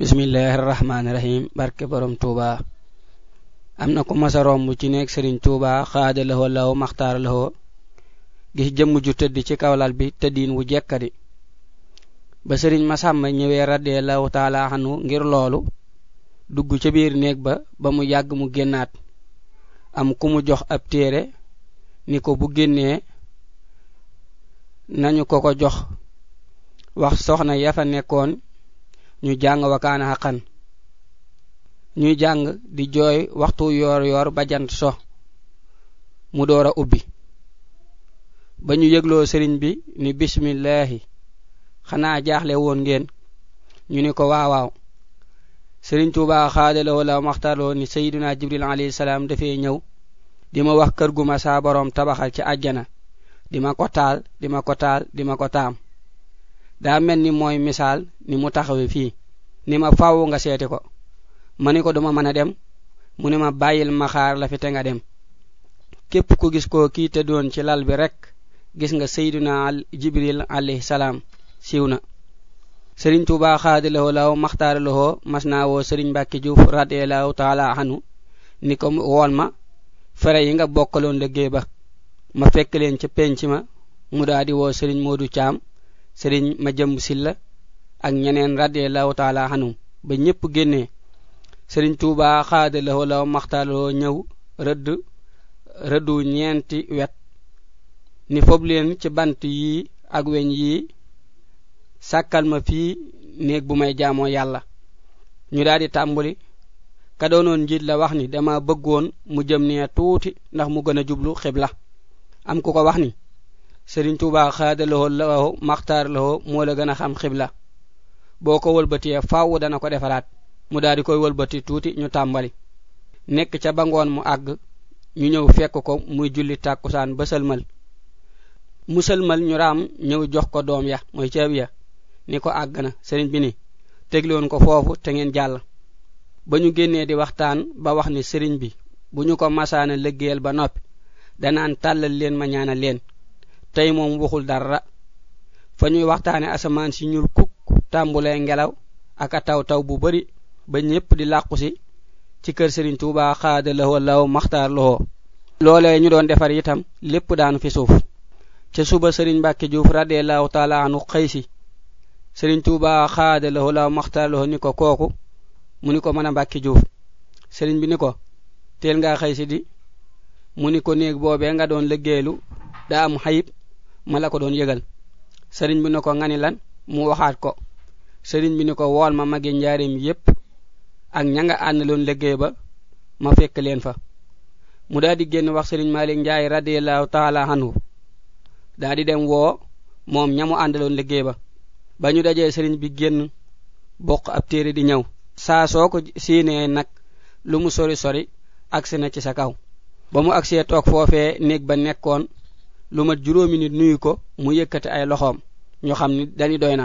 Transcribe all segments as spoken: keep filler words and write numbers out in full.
bismillahir rahmanir rahim barke borom Touba amna ko massa rombu ci nek Serigne Touba khadalahu law makhtar lahu gis jëm ju tedd ci kawlal bi teddin wu jekkadi ba Serigne Massamba ñewé radiyallahu ta'ala anhu ngir lolu dugg ci biir nek ba ba mu yag mu gennat am ku mu jox ab téré niko bu genné nañu ko ko jox wax soxna ya fa nekkon ñu jang wakana haqqan ñuy jang di joy waxtu yor yor ba jant so mu doora ubbi bañu yeglo serigne bi ni bismillah xana jaaxle won ngeen ñu ni ko waawaaw serigne Touba khadalo la maxtalo ni sayyiduna Jibril alayhi salam dafé ñew dima wax kër gu ma sa borom tabaxal ci aljana dima ko taal dima ko taal dima ko taam da melni moy misal ni mu taxawé fi ni ma faawu nga sété ko maniko duma mëna dem muni ma bayil ma xaar la fi té nga dem képp ku gis ko ki té doon ci lal bi rek gis nga sayyiduna Jibril alayhi salam siwna Serigne Touba khadilo law makhtar lahu masna wo Serigne Mbacke Diouf radiyallahu ta'ala anhu ni ko won ma fere yi nga bokkalon liggéey ba ma fekk len ci penc ma mu daadi wo Serigne Modou Thiam Serigne Madiam Silla ak ñeneen radiyallahu ta'ala anhu ba ñepp génné Serigne Touba khadalo law maxtalo ñew reud reudu ñenti wet ni fob leen ci bant yi ak weñ yi sakal ma fi neeg bu may jaamo yalla ñu daadi tambuli ka doonon njit la wax ni dama bëggoon mu jëm ne tuuti ndax mu gëna jublu xibla am ku ko wax ni Serigne Touba khadalo law maxtar law mo la gëna xam xibla boko wëlbeuti faawu dana ko defaraat mu daadi koy wëlbeuti tuuti ñu tambali nek ca bangoon mu ag ñu ñew fekk ko muy julli takusan ba selmal muselmal ñu ram ñew jox ko doom ya moy ceeb ya ni ko agna serigne bi ni tegloon ko fofu te ngeen jall bañu génné di waxtaan ba wax ni serigne bi buñu ko masaana liggéeyal ba nopi danaan talal leen ma ñaanal leen tay mom waxul dara fa ñuy waxtaane asamaan si ñul kuk tambulé ngelaw ak taw taw bu bari ba ñepp di laqku ci ci kër Serigne Touba khadalahu wallahu makhtar lahu lolé ñu doon defar itam lepp daanu fi suuf ci suba Serigne Mbacke Diouf radiyallahu ta'ala anhu xeysi Serigne Touba khadalahu wallahu makhtar lahu ni ko koku mu ni ko mëna Mbacke Diouf Serigne bi ni ko tel nga xeysi di mu ni ko neeg bobé nga doon liggéelu da am xayib mala ko doon yegal Serigne bi ni ko ngani lan mu waxaat ko Serigne bi ni ko wol ma magi njaarim yépp ak ñanga andalon liggéey ba ma fekk leen fa mu daadi genn wax Serigne Malik Ndiaye radiyallahu ta'ala anhu daadi dem wo mom ñamu andalon liggéey ba bañu dajé Serigne bi genn bokk ab téré di ñew sa soko séné nak lu mu sori sori aksi na ci sa kaw ba mu aksé tok fofé neeg ba nekkon lu mat juróomi nit nuyu ko mu yëkëti ay loxom ñu xamni dañi doyna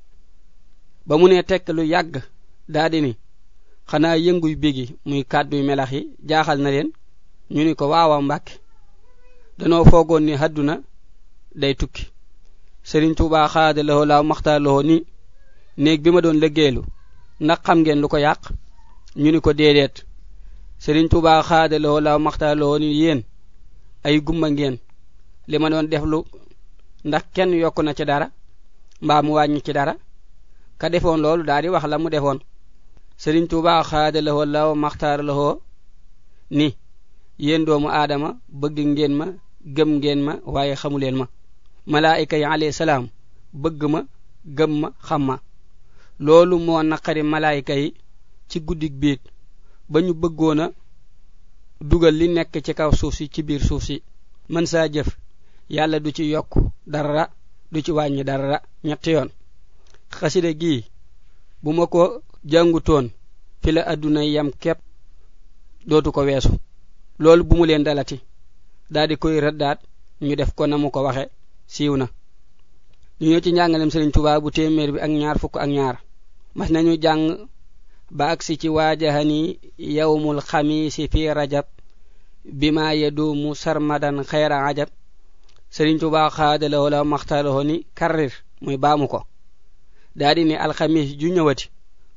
ba mu né tek lu yagg daadi ni xana yënguy begi muy kaddu melax yi jaaxal na leen ñu ni ko waawa Mbacke dañoo foogoon ni hadduna day tukki Serigne Touba khadalahu law maxtalo ni neeg bima doon liggéelu ndax xam ngeen lu ko yaq ñu ni ko déedéet Serigne Touba khadalahu law maxtalo ni yeen ay gumba ngeen lima doon deflu ndax kenn yokku na ci dara mbaa mu wañu ci dara ka defoon loolu daal di wax la mu defoon Serigne Touba khadalahu law makhtar lahu ni yeen doomu adama bëgg ngeen ma gëm ngeen ma waaye xamuleen ma malaika yi alayhi salam bëgg ma gëm ma xam ma loolu moo naqari malaika yi ci guddik biit bañu bëggoona dugal li nekk ci kaw suuf si ci biir suuf si man sa jëf yalla du ci yokk dara du ci wàññi dara ñett yoon xasida gi bu ma ko jàngutoon fi la aduna yam kep dootu ko weesu loolu bu mu leen dalati daldi koy raddaat ñu def ko namu ko waxe siiwna ñu ñëw ci njàngalem Serigne Touba bu téeméer bi ak ñaar fukk ak ñaar mas nañu jàng ba aksi ci wajahani yawmul khamis fi rajab bima yadumu sarmadan khayra ajab Serigne Touba khadalahu la maxtalo ni karrir muy baamu ko daldi ni al khamis ju ñëwati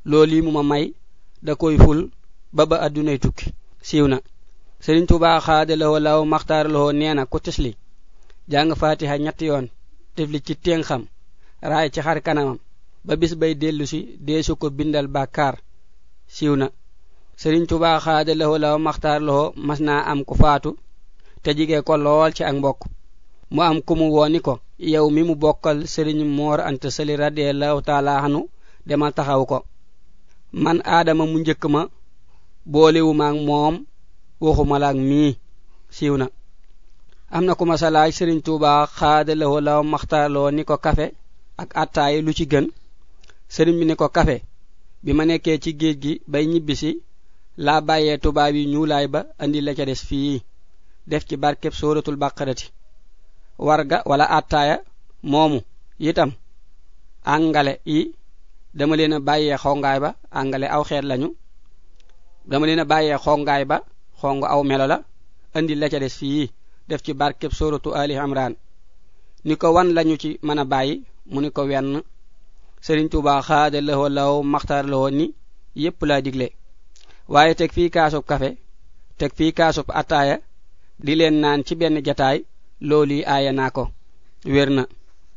loolu mu ma may da koy ful ba ba adunay tukki siiw na Serigne Touba xaadaloo law maxtaaraloo neena ku tisli jàng fatiha ñetti yoon tifli ci teen xam raay ci xar kanamam ba bis bay dellusi deesu ko bindal bàkkaar siiw na Serigne Touba xaadaloo law maxtaaraloo mas naa am ku faatu te jige ko lool ci ak mbokk mu am ku mu woni ko yow mi mu bokkal Serigne Mor Anta Sali radiyallahu ta'ala anhu demal taxaw ko man Adama mu njëkk ma boolewuma ak moom waxuma la ak mii siiw na am na ku ma sa laaj Serigne Touba xaadaloo law maxtaaraloo ni ko kafe ak attaay lu ci gën Serigne bi ni ko kafe bi ma nekkee ci géej gi bay ñibbisi laa bàyyee tubaab yi ñuulaay ba andi la ca des fii def ci barkeb suratul baqarati warga wala attaaya moomu itam angale yi dama leen a bàyyee xongaay ba angale aw xeet lañu dama leen a bàyyee xongaay ba xong aw melo la andi la ca des fii def ci barkeb suratu ali imran ni ko wan lañu ci mën a bàyyi mu ni ko wenn Serigne Touba xaadaloo law maxtaaraloo ni yépp laa digle waaye teg fii kaasub kafe teg fii kaasub attaaya di leen naan ci benn jataay loolu aaya naa ko wér na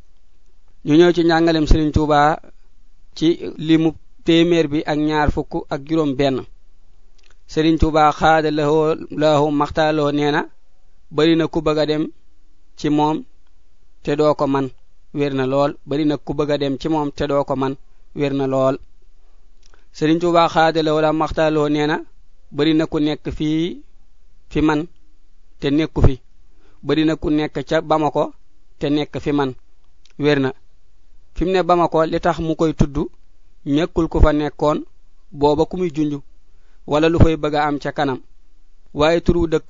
ñu ñëw ci njàngalem Serigne Touba ci limu téeméer bi ak ñaar fukk ak juróom benn Serigne Touba xaadaloo law maxtaaraloo neena bari na ku bëgg a dem ci moom te doo ko man wér na lool bari na ku bëgg a dem ci moom te doo ko man wér na lool Serigne Touba xaadaloo law maxtaaraloo neena bari na ku nekk fii fi man te nekku fi bari na ku nekk ca Bamako te nekk fi man wér na fi mu ne Bamako li tax mu koy tudd ñekkul ku fa nekkoon booba ku muy junj wala lu fay bëgg a am ca kanam waaye turu dëkk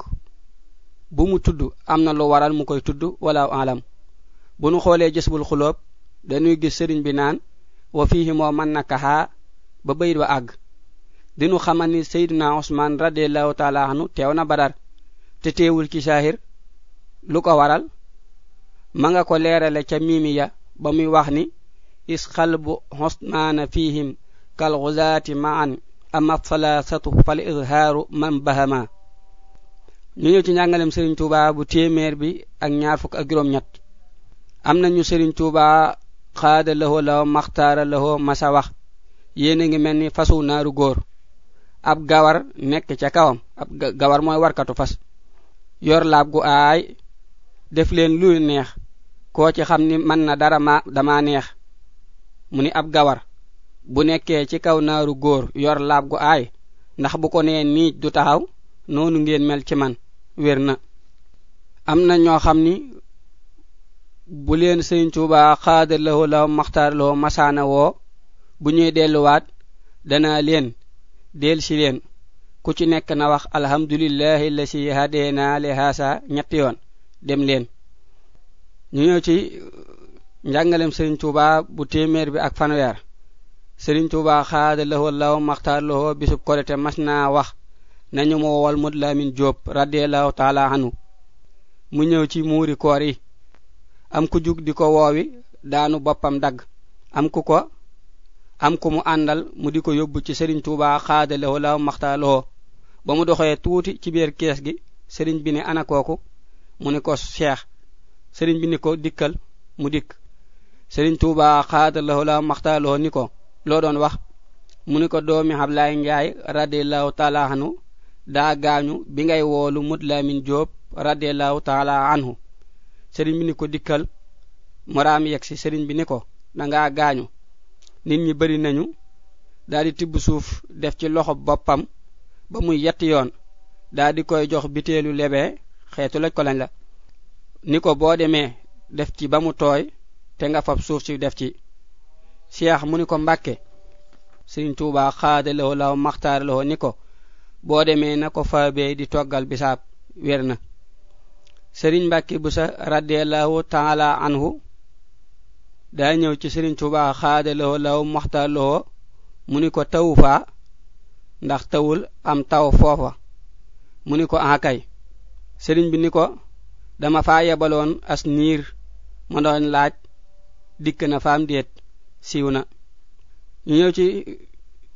bu mu tudd am na lu waral mu koy tudd wala alam bu nu xoolee Jazbul Xuloob dañuy gis sëriñ bi naan wa fihi moo man nakaha ba bayit wa àgg dinu xamal ni Seydina Usmaan radiyallahu ta'ala anhu teew na Badar te teewul ci saahir lu ko waral ma nga ko leerale ca mimiya ba muy wax ni is qalbu husnana fihim kal ghuzati ma'an amma thalathatu fal izharu man bahama ñu ñëw ci njàngalem Serigne Touba bu téeméer bi ak ñaar fukk ak juróom ñett am nañu Serigne Touba xaadaloo law maxtaaraloo masa wax yéen a ngi mel ni fasu naaru góor ab gawar nekk ca kawam ab gawar mooy warkatu fas yor laab gu aay def leen lu neex koo ci xam ni man na dara ma dama neex mu ni ab gawar bu nekkee ci kaw naaru góor yor laab gu aay ndax bu ko nee nii du taxaw noonu ngeen mel ci man wér na am na ñoo xam ni bu leen Serigne Touba xaadaloo law maxtaaraloo masaana woo bu ñuy delluwaat dana leen del si leen ku ci nekk na wax alhamdulillahi allasi hadena li hasa ñetti yoon dem leen ñu ñëw ci njàngalem Serigne Touba bu téeméer bi ak fanweer Serigne Touba xaadaloo law maxtaaraloo bisub korite mas naa wax nañu mo wol Mud Lamin Jóob radiyallahu ta'ala anhu mu ñëw ci muuri koor yi am ku jug di ko woowi daanu boppam dagg am ku ko am ku mu àndal mu di ko yóbbu ci Serigne Touba xaadaloo law maxtaaraloo ba mu doxee tuuti ci biir kees gi Serigne bi ne ana kooku mu ne ko Cheikh Serigne bi ni ko dikkal mu dikk Serigne Touba xaadaloo law maxtaaraloo ni ko loo doon wax mu ni ko doomi Ablaay Njaay radiyallahu ta'ala anhu daa gaañu bi ngay woolu Mud Lamin Jóob radiyallahu ta'ala anhu Serigne bi ni ko dikkal moraam yegsi Serigne bi ni ko danga gaañu nit ñi bari nañu daldi tibb suuf def ci loxo boppam ba muy yetti yoon daldi koy jox biteelu lebe xeetu laj ko lañ la ni ko boo demee def ci ba mu tooy te nga fab suuf ci def ci Cheikh mu ni ko Mbàkke Serigne Touba xaadaloo law maxtaaraloo ni ko boo demee na ko faabee di toggal bisaab wér na Serigne Mbàkke Buso radiyallahu ta'ala anhu daa ñëw ci Serigne Touba xaadaloo law maxtaaraloo mu ni ko tawu faa ndax tawul am taw foofa mu ni ko akay Serigne bi ni ko dama faa yebaloon as niir ma doon laaj dikk na faam déet siiw na ñu ñëw ci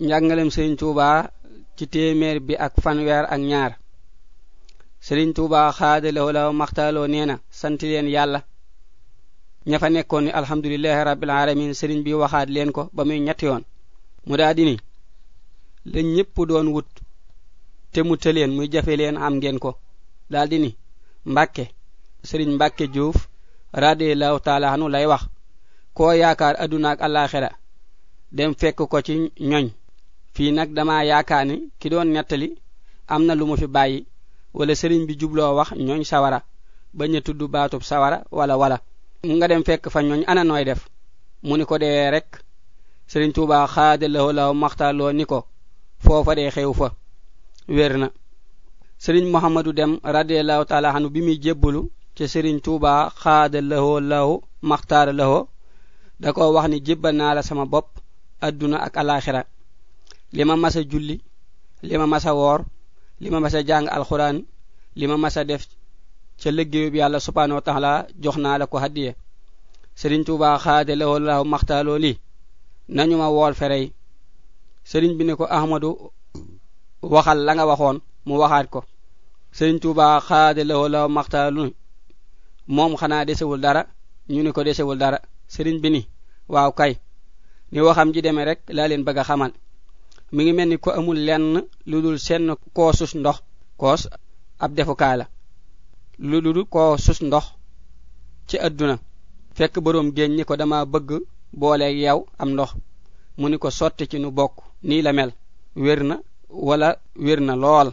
njàngalem Serigne Touba ci téeméer bi ak fanweer ak ñaar Serigne Touba xaadaloo la maxtaaloo neena sant leen yàlla ña fa nekkoon ni alhamdulillahi rabbil alamin Serigne bi waxaat leen ko ba muy ñetti yoon mu daa di ni la ñépp doon wut te mu tëleen muy jafe leen am ngeen ko daal di ni Mbàkke Serigne Mbàkke Diouf radiyallahu taala anu lay wax koo yaakaar aduna ak alaxira dem fekk ko ci ñoñ fii nag dama yaakaar ni ki doon nettali am na lu mu fi bàyyi wala Serigne bi jubloo wax ñoñ sawara bañ a tudd baatub sawara wala wala nga dem fekk fa ñoñ ana nooy def mu ni ko dee rek Serigne Touba xaadaloo la maxtaaloo ni ko foofa dee xew fa wér na Serigne Mouhamadou Dem radiyallahu taala anu bi muy jébbalu ci Serigne Touba xaadaloo law maxtaar lawo da ko wax ni jébbal naa la sama bopp adduna ak alaxira lima masa julli lima masa woor lima masa jàng alquran lima masa def ca liggéeyu bi yàlla subhanahu wa ta'ala jox naa la ko hadiye Serigne Touba xaadaloo law maxtaaloo li nañu ma wool ferey Serigne bi ne ko Ahmadu waxal la nga waxoon mu waxaat ko Serigne Touba xaadaloo law maxtaaloo moom xanaa desewul dara ñu ne ko desewul dara Serigne bi ni waaw kay ni waxam ji demee rek laa leen bëgg a xamal mi ngi mel ni ko amul lenn lu dul seen koosus ndox koos ab defukaay la lu dul koosus ndox ci adduna fekk boroom géej ni ko dama bëgg booleeg yow am ndox mu ni ko sotti ci nu bokk nii la mel wér na wala wér na lool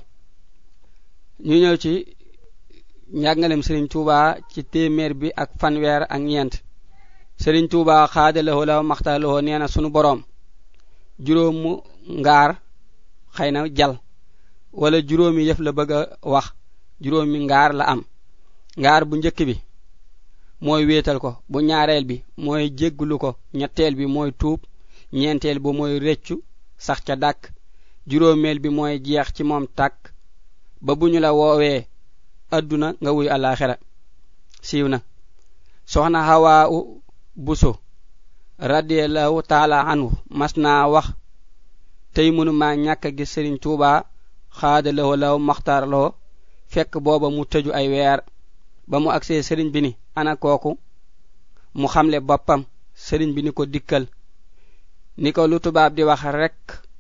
ñu ñëw ci njàngalem Serigne Touba ci téeméer bi ak fanweer ak ñeent Serigne Touba xaadaloo la maxtaaloo neena sunu boroom juróomu ngaar xëy na jal wala juróomi yëf la bëgg a wax juróomi ngaar la am ngaar bu njëkk bi mooy wéetal ko bu ñaareel bi mooy jéggulu ko ñetteel bi mooy tuub ñeenteel bi mooy reccu sax ca dàkk juróomeel bi mooy jeex ci moom tàkk ba bu ñu la woowee adduna nga wuy alaxira siiw na soxna Hawa Buso radiyallahu taala anhu mas naa wax tey mënu maa ñàkk a gis Serigne Touba xaadaloo law maxtaar loo fekk booba mu tëju ay weer ba mu agsee Serigne bi ni ana kooku mu xamle boppam Serigne bi ni ko dikkal ni ko lu tubaab di wax rek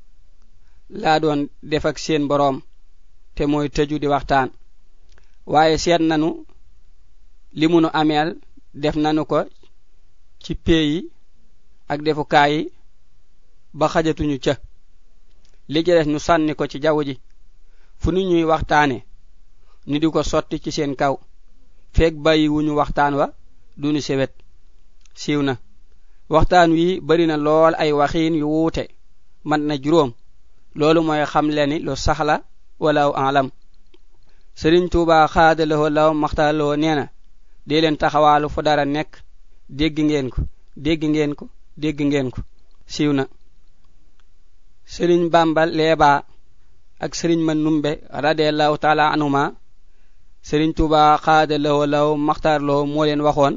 laa doon def ak seen boroom te mooy tëju di waxtaan waaye seet nanu li munu ameel def nanu ko ci pays ak defukaay yi ba xajatuñu ca li ci des ñu sànni ko ci jaww ji fu nu ñuy waxtaane ñu di ko sotti ci seen kaw feek bàyyi wuñu waxtaan wa duñu sewet siiw na waxtaan wi bari na lool ay waxiin yu wuute man na juróom loolu mooy xam leni lu saxla wala alam Serigne Touba xaadaloo law maxtaaloo neena dee leen taxawaalu fu dara nekk dégg ngeen ko dégg ngeen ko dégg ngeen ko siiw na Serigne Bamba Leeba ak Serigne Manumbe radiyallahu taala anhuma Serigne Touba xaadaloo law maxtaarloo moo leen waxoon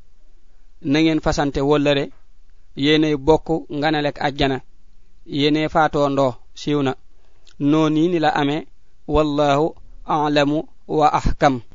na ngeen fasante wóllëre yéenay bokk nganalek àjjana yéenay faatoo ndoo siiw na noonu ni la amee wallahu a'lamu wa ahkam